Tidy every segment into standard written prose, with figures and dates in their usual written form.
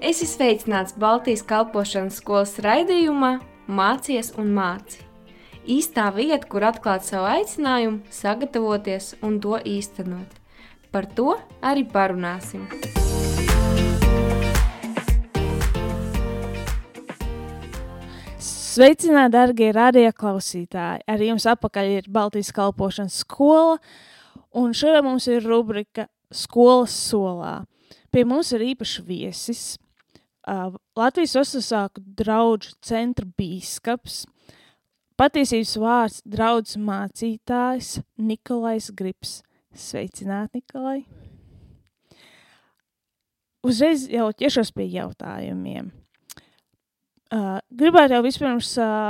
Esi sveicināts Baltijas kalpošanas skolas raidījumā Mācies un māci. Īstā vieta, kur atklāt savu aicinājumu, sagatavoties un to īstenot. Par to arī parunāsim. Sveicināti, darbie radio klausītāji! Ar jums apakaļ ir Baltijas kalpošanas skola, un šodien mums ir rubrika Skolas solā. Pie mums ir īpašs viesis, Latvijas Ortodoksāku draugu centra bīskaps, patiesības vārds draudzes mācītājs Nikolais Gribs. Sveicināti, Nikolai! Uzreiz jau ķeršos pie jautājumiem. Gribētu jau vispirms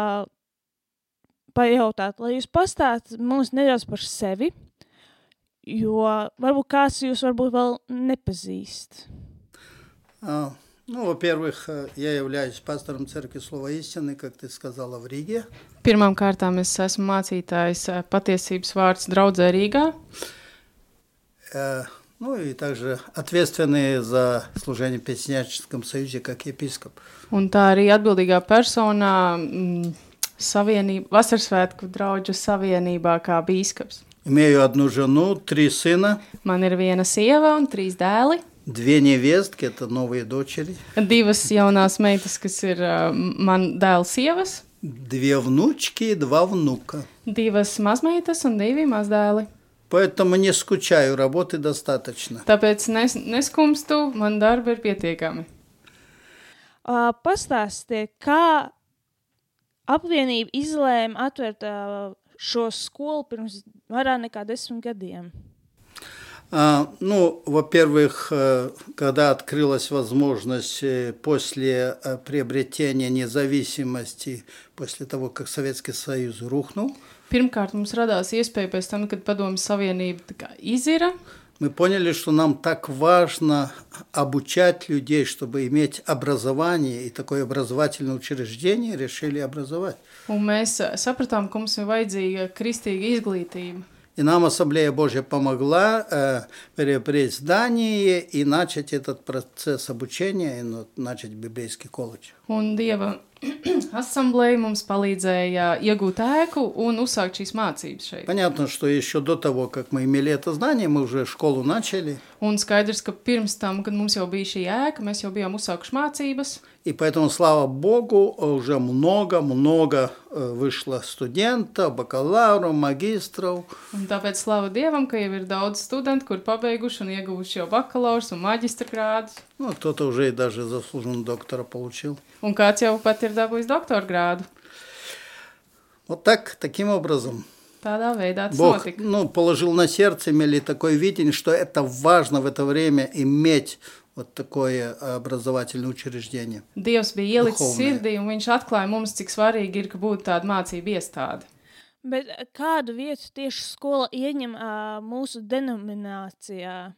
pajautāt, lai jūs pastāstat mums nedaudz par sevi, jo varbūt kāds jūs varbūt vēl неpazīst. Во-первых, я являюсь пастором Церкви Слова Истины, как ты сказала, в Риге. Pirmām kārtām es esmu mācītājs patiesības vārds draudzē Rīgā. И также ответственный за служение в Песняческом союзе как епископ. Un tā arī atbildīgā personā Vasarsvētku draugu savienībā kā bīskaps. Имею одну жену, 3 сына. Man ir viena sieva un 3 dēli. 2 невестки, это новые дочери. 2 jaunās meitas, kas ir man dēla sievas. 2 внучки и 2 внука. 2 mazmeitas un 2 mazdēli. Поэтому не скучаю, работы достаточно. Tāpēc neskumstu, man darba ir pietiekami. Pastāstiet, kā apvienība izlēma atvērt šo skolu pirms vairāk nekā 10 gadiem? Во-первых, когда открылась возможность после приобретения независимости, после того, как Советский Союз рухнул, Pirmkārt, mums radās iespēja pēc tam, kad Padomju Savienība izira. Мы поняли, что нам так важно обучать людей, чтобы иметь образование, и такое образовательное учреждение решили образовать. Un mēs sapratām, ka mums ir vajadzīga kristīga izglītība. И нам Ассамблея Божья помогла приобрести здание и начать этот процесс обучения, и начать библейский колледж. Un Dieva asamblēja mums palīdzēja iegūt ēku un uzsākt šīs mācības šeit. Понятно, что еще до того, как мы имели это здание, мы уже школу начали. Un skaidrs, ka pirms tam, kad mums jau bija šī ēka, mēs jau bijām uzsākuši mācības. И поэтому, слава Богу, уже много вышло студентов, бакалавров, магистров. Un tāpēc slava Dievam, ka jau ir daudz studentu, kur pabeiguši un ieguvuši jau bakalaurs un maģistra grādus. Кто-то уже и даже заслуженного доктора получил. Un kāds jau pat ir dabūjis doktora grādu. Вот таким образом. Tādā veidā tas Бог notika. положил на сердце, имели такое видение, что это важно в это время иметь вот такое образовательное учреждение. Dievs bija ielicis sirdī, un viņš atklāja mums, cik svarīgi ir, ka būtu tāda mācība iestāde. Bet kādu vietu tieši skola ieņem mūsu denominācijā?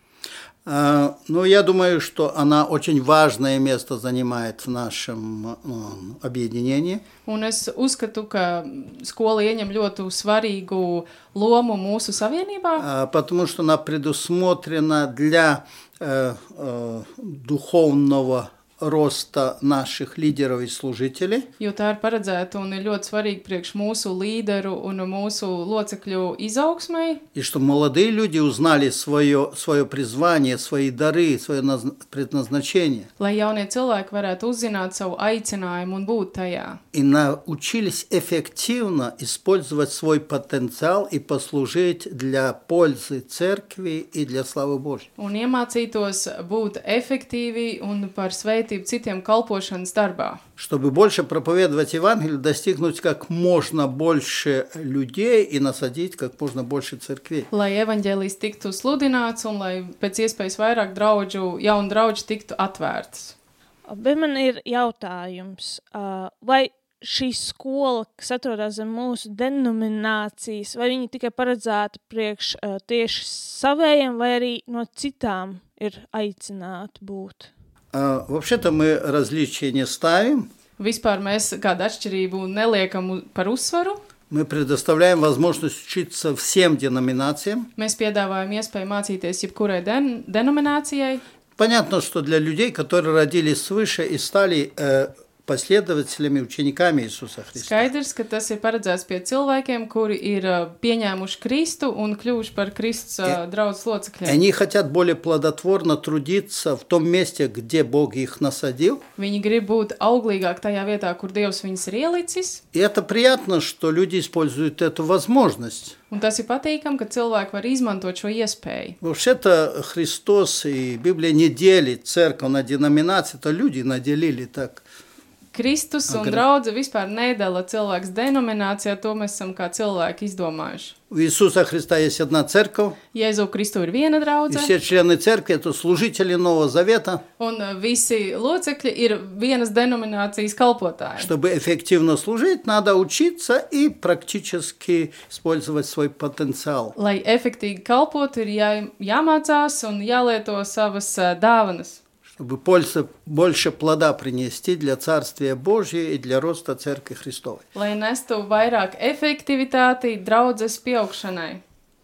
Я думаю, что она очень важное место занимает в нашем объединении. Un es uzskatu, ka skola ieņem ļoti svarīgu lomu mūsu savienībā. Потому что она предусмотрена для духовного роста наших лидеров и служителей. Jo tā ir paredzēta un ir ļoti svarīga priekš mūsu līderu un mūsu locekļu izaugsmai. И что молодые люди узнали свое призвание, свои дары, свое предназначение. Lai jaunie cilvēki varētu uzzināt savu aicinājumu un būt tajā. И научились эффективно использовать свой потенциал и послужить для пользы церкви и для славы Божьей. Un iemācītos būt efektīvi un par svētību citiem kalpošanas darbā. Чтобы больше проповедовать Евангелие, достигнуть как можно больше людей и насадить как можно больше церквей. Lai evaņģēlijs tiktu sludināts un lai pēc iespējas vairāk jaunu draugu tiktu atvērtas. Bet man ir jautājums, vai šī skola, kas atrodas zem mūsu denominācijas, vai viņi tikai paredzēta priekš tieši savējiem, vai arī no citām ir aicināti būt? Вообще-то мы различия не ставим. Vispār mēs kādu atšķirību neliekam par uzsvaru. Мы предоставляем возможность учиться всем деноминациям. Mēs piedāvājam iespēju mācīties jebkurai denominācijai. Понятно, что для людей, которые родились свыше и стали последователями, учениками Иисуса Христа. Skaidrs, ka tas ir paredzēts pie cilvēkiem, kuri ir pieņēmuši Kristu un kļuvuši par Kristus draudzes locekļiem. Они хотят более плодотворно трудиться в том месте, где Бог их насадил. Viņi grib būt auglīgāk tajā vietā, kur Dievs viņus ir ielicis. И это приятно, что люди используют эту возможность. Un tas ir patīkami, ka cilvēki var izmantot šo iespēju. Вообще-то Христос и Библия не делит церковь на деноминации, это люди наделили так. Kristus un draudze vispār nedala cilvēks denominācijā, to mēs esam kā cilvēki izdomājuši. У Иисуса Христа есть одна церковь. Jēzu Kristu ir viena И draudze. все члены церкви – это служители Нового Завета. Un visi locekļi ir vienas denominācijas kalpotāji. Чтобы эффективно служить, надо учиться и практически использовать свой потенциал. Lai efektīgi kalpotu, ir jāmācās un jālieto savas dāvanas. Чтобы больше плода принести для Царствия Божия и для роста Церкви Христовой. Lai nestu vairāk efektivitāti draudzes pieaugšanai.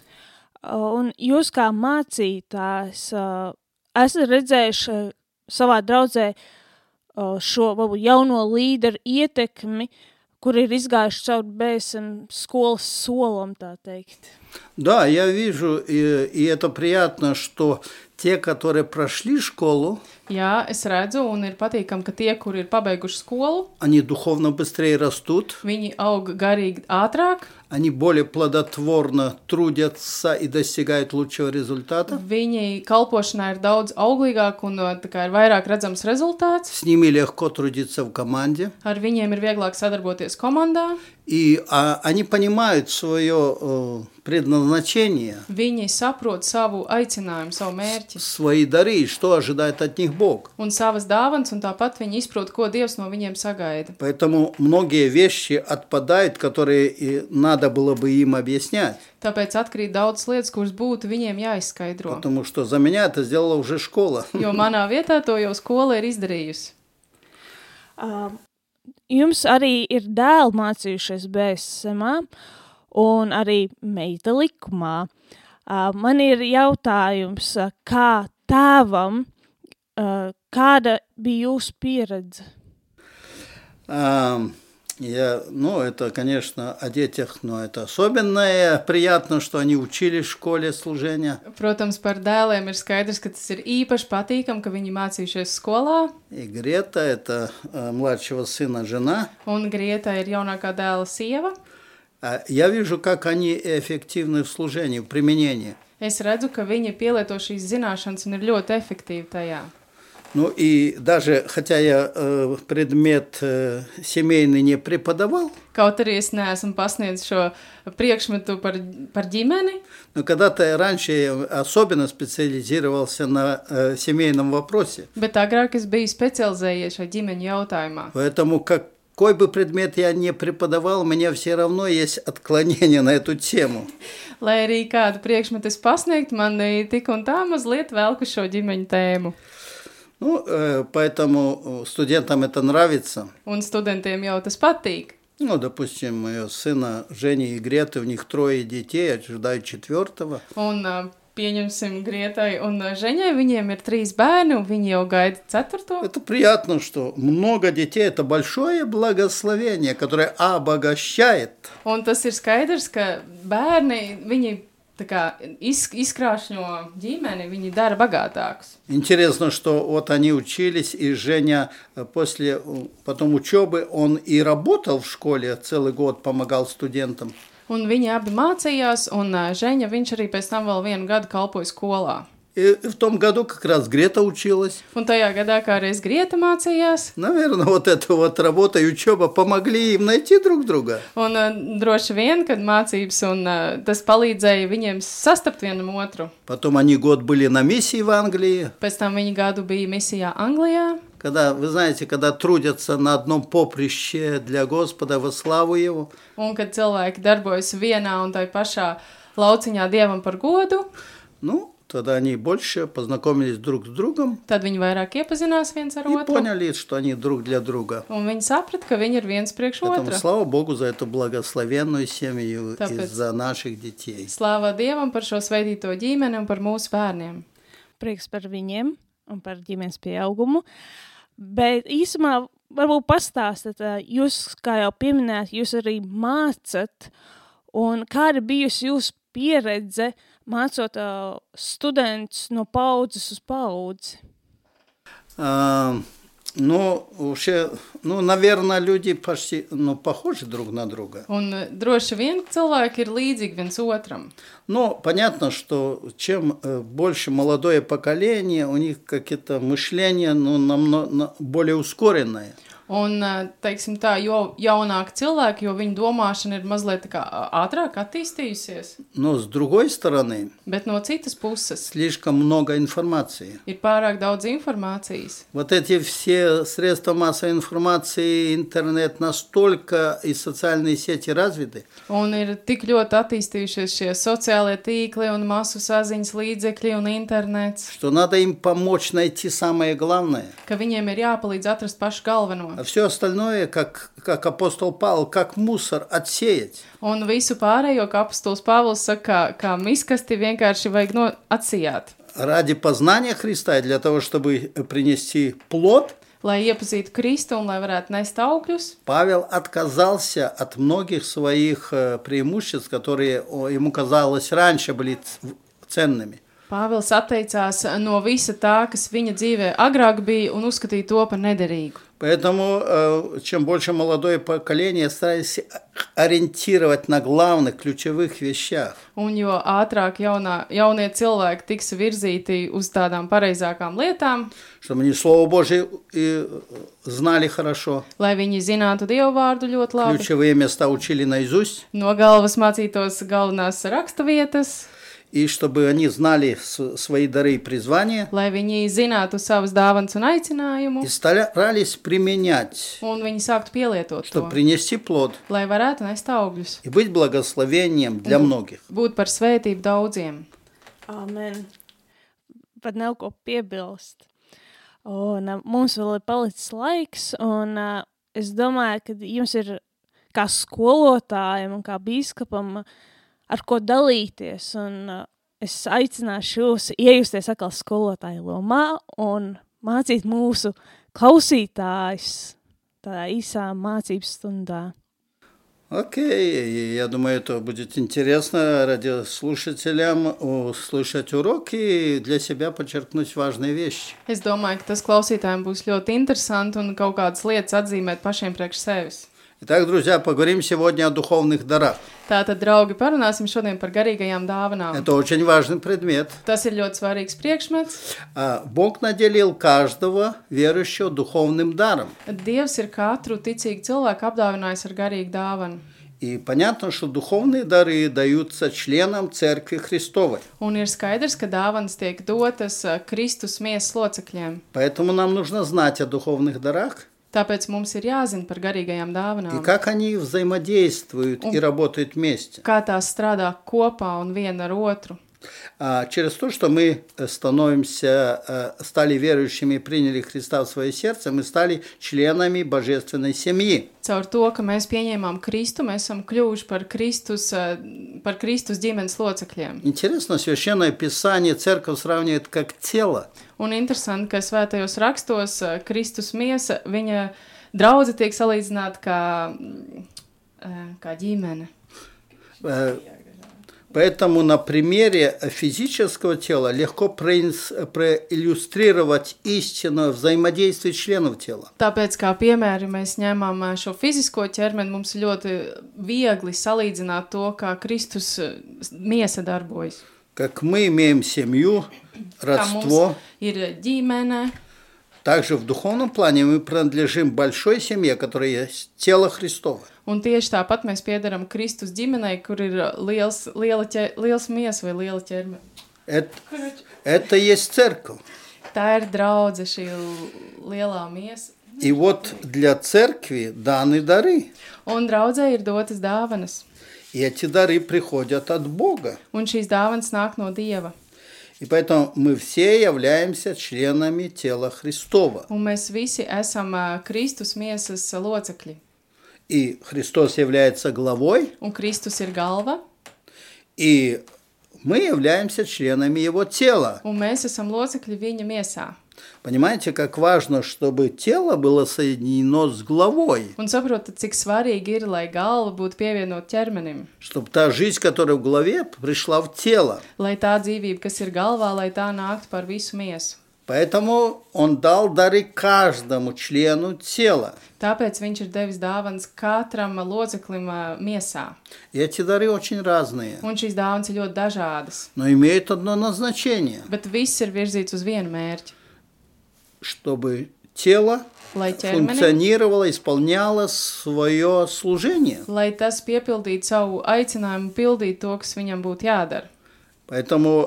Un jūs kā mācītājs esat redzējuši savā draudzē šo varbūt jauno līderu ietekmi, kur ir izgājuši caur BSM skolas solam, tā teikt. Да, я вижу, и это приятно, что те, которые прошли школу, Jā, es redzu, un ir patīkami, ka tie, kuri ir pabeiguši skolu, они духовно быстрее растут, viņi aug garīgi ātrāk, они более плодотворно трудятся и достигают лучшего результата. viņi kalpošanā ir daudz auglīgāk un tā kā ir vairāk redzams rezultāts. С ними легко трудиться в команде. Ar viņiem ir vieglāk sadarboties komandā. И они понимают свое предназначение, Viņi saprot savu aicinājumu, savu mērķi свои дары, и что ожидает от них Бог. un savas dāvanas, un tāpat viņi izprot, ko Dievs no viņiem sagaida. Поэтому многие вещи отпадают, которые надо было бы им объяснять. Tāpēc atkrīt daudz lietas, kuras būtu viņiem jāizskaidro. Потому что за меня это сделала уже школа. Jo manā vietā to jau skola ir izdarījusi. Jums arī ir dēli mācījušies BSMā un arī meita likumā. Man ir jautājums, kā tēvam, kāda bija jūsu pieredze? Это, конечно, о детях, но это особенное. Приятно, что они учились в школе служения. Protams, par dēliem ir skaidrs, ka tas ir īpaši patīkami, ka viņi mācījušies skolā. И Грета – это младшего сына жена. Un Grieta ir jaunākā dēla sieva. Я вижу, как они эффективны в служении, в применении. Es redzu, ka viņi pielieto šīs zināšanas un ir ļoti efektīvi tajā. Ну и даже, хотя я предмет семейный не преподавал, Kaut arī es neesmu pasniedzis šo priekšmetu par ģimeni, но когда-то раньше я особенно специализировался на семейном вопросе. bet agrāk es biju specializējies šai ģimeņu jautājumā. Поэтому какой бы предмет я не преподавал, у меня все равно есть отклонение на эту тему. Lai arī kādu priekšmetu es pasniegtu, man tik un tā mazliet velku šo ģimeņu tēmu. Поэтому студентам это нравится. Un studentiem jau tas patīk. Допустим, моего сына Жени и Греты, у них 3 детей, ожидают 4. Un pieņemsim Grietai un Ženai, viņiem ir 3 bērni, un viņi jau gaida 4. Это приятно, что много детей – это большое благословение, которое обогащает. Un tas ir skaidrs, ka bērni, viņi tā kā izkrāšņo ģimeni, viņi dara bagātākus. Интересно, что вот они учились, и Женя потом учебы, он и работал в школе, целый год помогал студентам. Un viņi abi mācījās, un Ženja, viņš arī pēc tam vēl 1 gadu kalpoja skolā. И в том году как раз Грета училась. Un tajā gadā kā reiz Grieta mācījās. Наверное, вот эта вот работа и учеба помогли им найти друг друга. Un droši vien, kad mācības un tas palīdzēja viņiem sastapt vienam otru. Потом они год были на миссии в Англии. Pēc tam viņi gadu bija misijā Anglijā. Когда, вы знаете, когда трудятся на одном поприще для Господа во славу Его. Un kad cilvēki darbojas vienā un tai pašā lauciņā Dievam par godu. Тогда они больше познакомились друг с другом. Tad viņi vairāk iepazinās viens ar И otru. поняли, что они друг для друга. Un viņi saprata, ka viņi ir viens priekš Поэтому otra. слава Богу за эту благословенную семью и Tāpēc за наших детей. Slāvā Dievam par šo svētīto ģimeni un par mūsu bērniem. Prieks par viņiem. un par ģimenes pieaugumu. Bet īsumā varbūt pastāstāt, jūs, kā jau pieminējāt, jūs arī mācat, un kāda bijusi jūsu pieredze mācot studentus no paudzes uz paudzi? Наверное, люди почти похожи друг на друга. Un droši vien cilvēki ir līdzīgi viens otram. Но понятно, что чем больше молодое поколение, у них какие-то мышления намного более ускоренное. Un, teiksim tā, jo jaunāki cilvēki, jo viņu domāšana ir mazliet tā kā ātrāk attīstījusies. Но с другой стороны, Bet no citas puses слишком много информации. ir pārāk daudz informācijas. Вот эти все средства массовой информации, интернет настолько и социальные сети развиты, Un ir tik ļoti attīstījušies šie sociālie tīkli un masu saziņas līdzekļi un internets, что надо им помочь найти самое главное. ka viņiem ir jāpalīdz atrast pašu galveno. А все остальное, как апостол Павел, как мусор отсеять. Un visu pārējo, kā apostols Pāvils saka, kā miskasti vienkārši vajag atsijāt. Ради познания Христа и для того, чтобы принести плод, Lai iepazītu Kristu un lai varētu nest augļus, Павел отказался от многих своих преимуществ, которые ему казалось раньше были ценными. Pāvils atteicās no visa tā, kas viņa dzīvē agrāk bija, un uzskatīja to par nederīgu. Поэтому чем больше молодое поколение старается ориентировать на главных, ключевых вещах. Un jo ātrāk jaunie cilvēki tiks virzīti uz tādām pareizākām lietām, Чтобы они Слово Божие знали хорошо, lai viņi zinātu Dievu vārdu ļoti labi, ключевые места учили наизусть, no galvas mācītos galvenās raksturvietas, и чтобы они знали свои дары и призвания, lai viņi zinātu savas dāvanas un aicinājumu, и старались применять, un viņi sāktu pielietot to, чтобы принести плод lai varētu nest augļus, и быть благословением для многих. būt par svētību daudziem. Amen. Pat nav ko piebilst. Un mums vēl ir palicis laiks, un es domāju, ka jums ir kā skolotājiem un kā bīskapam ar ko dalīties, un es aicināšu jūs iejusties atkal skolotāju lomā un mācīt mūsu klausītājus tādā īsā mācības stundā. Окей, я думаю, это будет интересно радиослушателям услышать уроки и для себя подчеркнуть важные вещи. Es domāju, ka tas klausītājiem būs ļoti interesanti un kaut kādas lietas atzīmēt pašiem priekš sevis. Итак, друзья, поговорим сегодня о духовных дарах. Tātad, draugi, parunāsim šodien par garīgajām dāvanām. Это очень важный предмет. Tas ir ļoti svarīgs priekšmets. Бог наделил каждого верующего духовным даром. Dievs ir katru ticīgu cilvēku apdāvinājis ar garīgu dāvanu. И понятно, что духовные дары даются членам Церкви Христовой. Un ir skaidrs, ka dāvanas tiek dotas Kristus miesas locekļiem. Поэтому нам нужно знать о духовных дарах. Tāpēc mums ir jāzina par garīgajām И dāvanām. как они взаимодействуют и работают вместе. Kā tās strādā kopā un viena ar otru. Через то, что мы стали верующими и приняли Христа в свое сердце, мы стали членами божественной семьи. Caur to, ka mēs pieņēmām Kristu, mēs esam kļuvuši par Kristus ģimenes locekļiem. Интересно, Священное Писание церковь сравнивает как тело. Un interesanti, ka svētajos rakstos Kristus miesa, viņa draudze tiek salīdzināta kā ģimene. Поэтому на примере физического тела легко проиллюстрировать истинное взаимодействие членов тела. Tāpēc, kā piemēri, mēs ņemam šo fizisko ķermeni, mums ļoti viegli salīdzināt to, kā Kristus miesa darbojas. Как мы имеем семью, родство, ir ģimene. Также в духовном плане мы принадлежим большой семье, которая есть тело Христово. Un tieši tāpat mēs piederam Kristus ģimenei, kur ir liels miesa vai liela ķerme. Это есть церковь. Tā ir draudze, šī lielā miesa. И вот для церкви даны дары. Un draudzē ir dotas dāvanas. И эти дары приходят от Бога. Un šīs dāvanas nāk no Dieva. И поэтому мы все являемся членами тела Христова. Un mēs visi esam Kristus miesas locekļi. И Христос является главой. Un Kristus ir galva. И мы являемся членами его тела. un mēs esam locekļi viņa miesā. Понимаете, как важно, чтобы тело было соединено с головой, Un saprotat, cik svarīgi ir, lai galva būtu pievienot ķermenim, чтобы та жизнь, которая в голове, пришла в тело. lai tā dzīvība, kas ir galvā, lai tā nāktu par visu miesu. Поэтому он дал дары каждому члену тела. Tāpēc viņš ir devis dāvanas katram loceklim miesā. И эти дары очень разные, Un šīs dāvanas ir ļoti dažādas, но имеют одно назначение, bet viss ir virzīts uz vienu mērķi. чтобы тело Lai ķermenim, функционировало, исполняло свое служение. lai tas piepildītu savu aicinājumu, pildīt to, kas viņam būtu jādara. Поэтому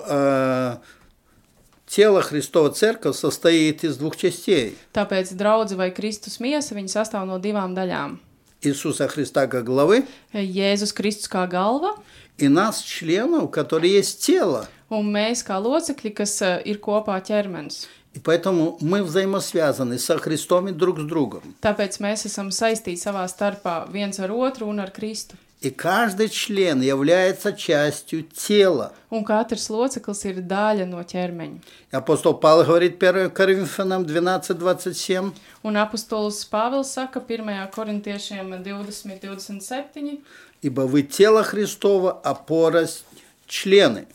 тело Христова Церковь состоит из двух частей. Tāpēc draudze vai Kristus miesa, viņa sastāv no divām daļām. Иисуса Христа как главы Jēzus Kristus kā galva и нас, членов, которые есть тело. un mēs kā locekļi, kas ir kopā ķermenis. И поэтому мы взаимосвязаны со Христом и друг с другом. Tāpēc mēs esam saistīti savā starpā viens ar otru un ar Kristu. И каждый член является частью тела. Un katrs loceklis ir daļa no ķermeņa. И апостол Павел говорит 1 Коринфянам 12:27. Un apostols Pāvils saka 1. korintiešiem 20:27, Ибо вы тело Христово, а порость члены.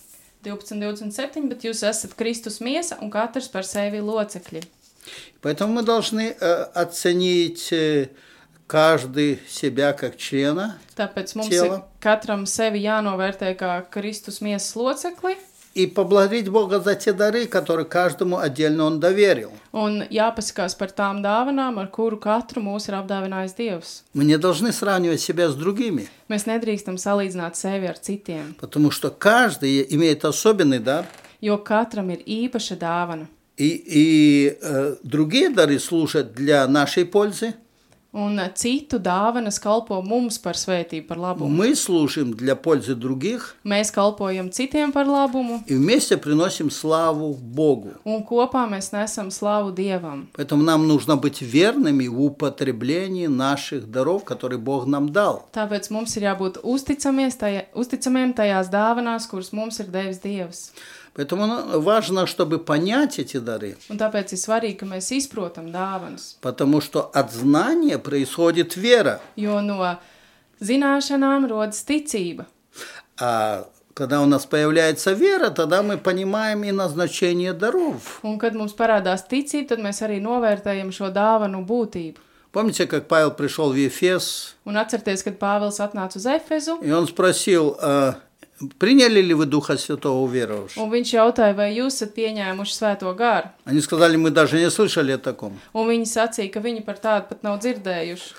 12:27, bet jūs esat Kristus miesa un katrs par sevi locekļi. Поэтому мы должны оценить каждый себя как члена Tāpēc mums Tēla. ir katram sevi jānovērtē kā Kristus miesas locekli и поблагодарить Бога за те дары, которые каждому отдельно Он доверил. un jāpasakās par tām dāvanām, ar kuru katru mūs ir apdāvinājis Dievs. Мы не должны сравнивать себя с другими, Mēs nedrīkstam salīdzināt sevi ar citiem, потому что каждый имеет особенный дар, jo katram ir īpaša dāvana. и другие дары служат для нашей пользы. Un citu dāvanas kalpo mums par svētību, par labumu. Мы служим для пользы других Mēs kalpojam citiem par labumu, и вместе приносим славу Богу. un kopā mēs nesam slavu Dievam. Поэтому нам нужно быть верными в употреблении наших даров, которые Бог нам дал. Tāpēc mums ir jābūt uzticamiem tajās dāvanās, kuras mums ir devis Dievs. Поэтому важно, чтобы понять эти дары, Un tāpēc ir svarīgi, ka mēs izprotam dāvanas, потому что от знания происходит вера. jo no zināšanām rodas ticība. А когда у нас появляется вера, тогда мы понимаем и назначение даров. Un kad mums parādās ticība, tad mēs arī novērtējam šo dāvanu būtību. Помните, как Павел пришел в Ефес, Un atcerieties, kad Pāvils atnāca uz Efezu, и он спросил, приняли ли вы Духа Святого уверовавшего? un viņš jautāja, vai jūs esat pieņēmuši svēto garu. Они сказали, мы даже не слышали о таком. Un viņi sacīja, ka viņi par tādu pat nav dzirdējuši.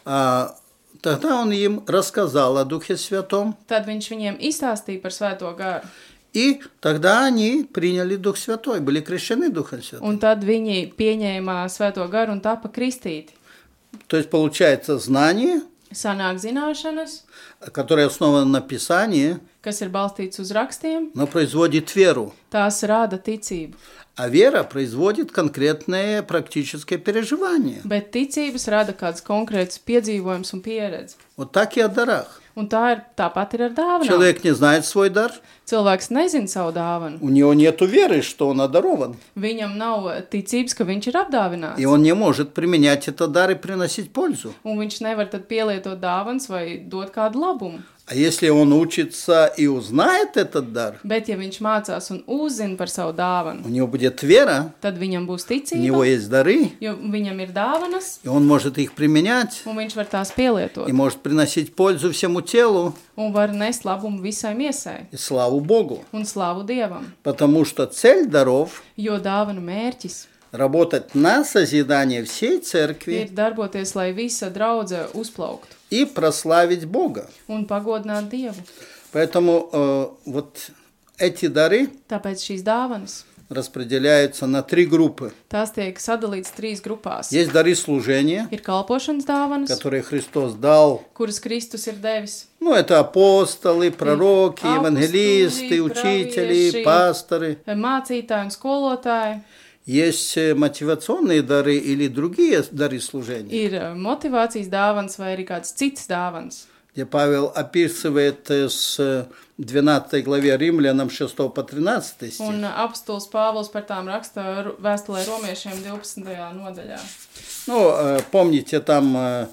Тогда он им рассказал о Духе Святом, Tad viņš viņiem izstāstīja par svēto garu. и тогда они приняли Дух Святой, были крещены Духом Святым. Un tad viņi pieņēma svēto garu un tapa kristīti. То есть получается знание, Sanāk zināšanas, которое основано на Писании, kas ir balstīts uz rakstiem, но производит веру. tās rada ticību. А вера производит конкретное практическое переживание. Bet ticības rada kāds konkrēts piedzīvojums un pieredze. Вот так и о дарах. Un tāpat ir ar dāvanām. Человек не знает свой дар, Cilvēks nezina savu dāvanu. у него нет веры, что он одарован. Viņam nav ticības, ka viņš ir apdāvināts. И он не может применять этот дар и приносить пользу. Un viņš nevar tad pielietot dāvanas vai dot kādu labumu. А если он учится и узнает этот дар, Bet, ja viņš mācās un uzzina par savu dāvanu, у него будет вера, tad viņam būs у него ticība, есть дары, jo viņam ir dāvanas, и он может их применять, un viņš var tās pielietot. и может приносить пользу всему телу Un var nest labumu visai miesai и славу Богу. un slavu Dievam. Потому что цель даров Jo dāvanu mērķis – работать на созидание всей церкви ir darboties, lai visa draudze uzplauktu и прославить Бога. un pagodināt Dievu. Поэтому вот эти дары Tāpēc šīs dāvanas, распределяются на 3 группы. tās tiek sadalītas 3 grupās. Есть дары служения, Ir kalpošanas dāvanas, которые Христос дал. kuras Kristus ir devis. Ну, это апостолы, пророки, Апостолы, евангелисты, учители, праведшие. пасторы. Mācītāji un skolotāji, Есть мотивационные дары или другие дары служения. ir motivācijas dāvanas vai arī kāds cits dāvanas. где Павел описывает с 12 главе Римлянам 6 по 13 стих. Un apostols Pāvils par tām raksta vēstulē romiešiem 12. nodaļā. Ну, помните, там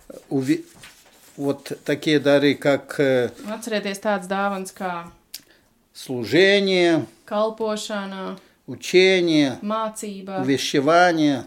вот такие дары, как Atcerieties tāds dāvans kā служение, kalpošana, учение, mācība, увещевание,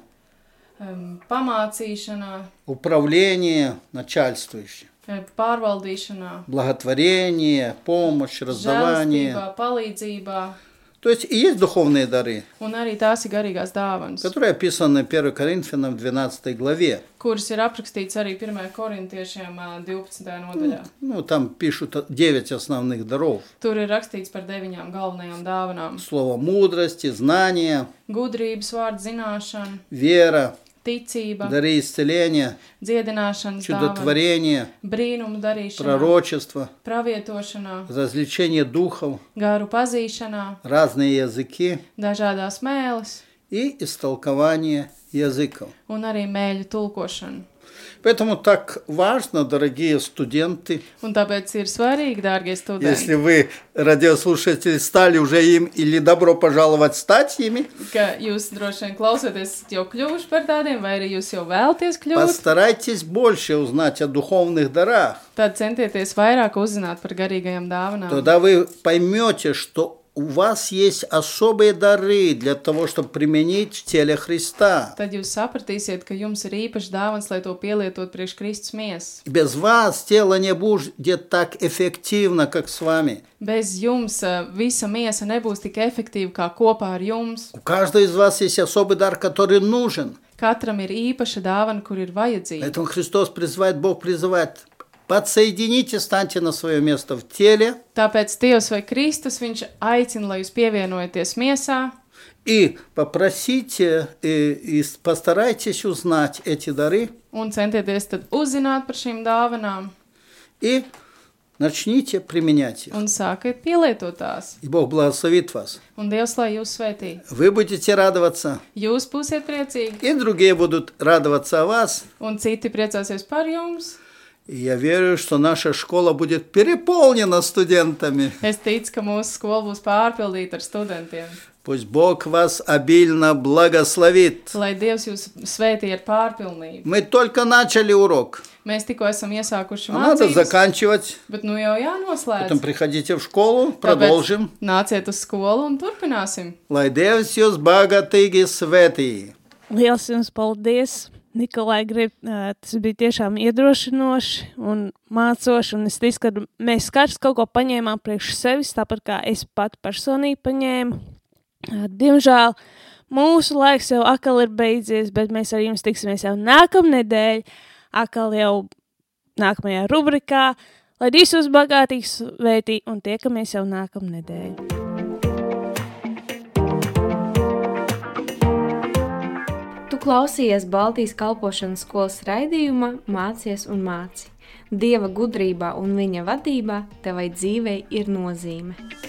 pamācīšana, управление начальствующим, pārvaldīšana, благотворение, помощь, раздавание. žēlstība, palīdzība. То есть и есть духовные дары, Un arī tās ir garīgās dāvanas, которые описаны 1 Коринфянам в 12 главе. kuras ir aprakstīts arī 1. korintiešiem 12. nodaļā. Ну, там пишут 9 основных даров. Tur ir rakstīts par 9 galvenajām dāvanām. Слово мудрости, знания, Gudrības vārds zināšana, вера, ticība, дары исцеления, dziedināšanas dāvana, чудотворение, brīnumu darīšana, пророчество, pravietošana, развлечение духов, garu pazīšana, разные языки dažādās mēles и истолкование языков. un arī mēļu tulkošana. Поэтому так важно, дорогие студенты, Un tāpēc ir svarīgi, dārgie studenti, если вы, радиослушатели, стали уже им или добро пожаловать стать ими, ka jūs droši vien klausoties jau kļuvuši par tādiem, vai arī jūs jau vēlties kļūt, постарайтесь больше узнать о духовных дарах. tad centieties vairāk uzzināt par garīgajām dāvanām. Тогда вы поймете, что у вас есть особые дары для того, чтобы применить в теле Христа. Tad jūs sapratīsiet, ka jums ir īpaši dāvans, lai to pielietot priekš Kristus miesas. Без вас тело не будет так эффективно, как с вами. Bez jums visa miesa nebūs tik efektīva kā kopā ar jums. У каждого из вас есть особый дар, который нужен. Katram ir īpaša dāvana, kur ir vajadzīga. Поэтому Христос призывает, Бог призывает. Подсоедините, станьте на свое место в теле. Tāpēc Dievs vai Kristus, viņš aicina, lai jūs pievienojaties miesā И попросите, и постарайтесь узнать эти дары. un centieties tad uzzināt par šīm dāvanām И начните применять их. un sākiet pielietot tās. И Бог благословит вас. Un Dievs, lai jūs svētī. Вы будете радоваться. Jūs būsiet priecīgi И другие будут радоваться о вас. un citi priecāsies par jums. И я верю, что наша школа будет переполнена студентами. Es ticu, ka mūsu skola būs pārpildīta ar studentiem. Пусть Бог вас обильно благословит. Lai Dievs jūs svētī ar pārpilnību. Мы только начали урок. Mēs tikko esam iesākuši А надо mācības, заканчивать. bet nu jau jānoslēdz. Потом приходите в школу, продолжим. Nāciet uz skolu un turpināsim. Lai Dievs jūs bagātīgi svētī. Liels jums paldies! Nikolai, tas bija tiešām iedrošinoši un mācoši, un es ticu, ka mēs katrs kaut ko paņēmām priekš sevis, tāpat kā es pat personīgi paņēmu. Diemžēl mūsu laiks jau atkal ir beidzies, bet mēs ar jums tiksimies jau nākamnedēļ, atkal jau nākamajā rubrikā, lai Dievs jūs bagātīgi svētī un tiekamies jau nākamnedēļ. Tu klausījies Baltijas kalpošanas skolas raidījuma Mācies un māci. Dieva gudrībā un viņa vadībā tevai dzīvei ir nozīme.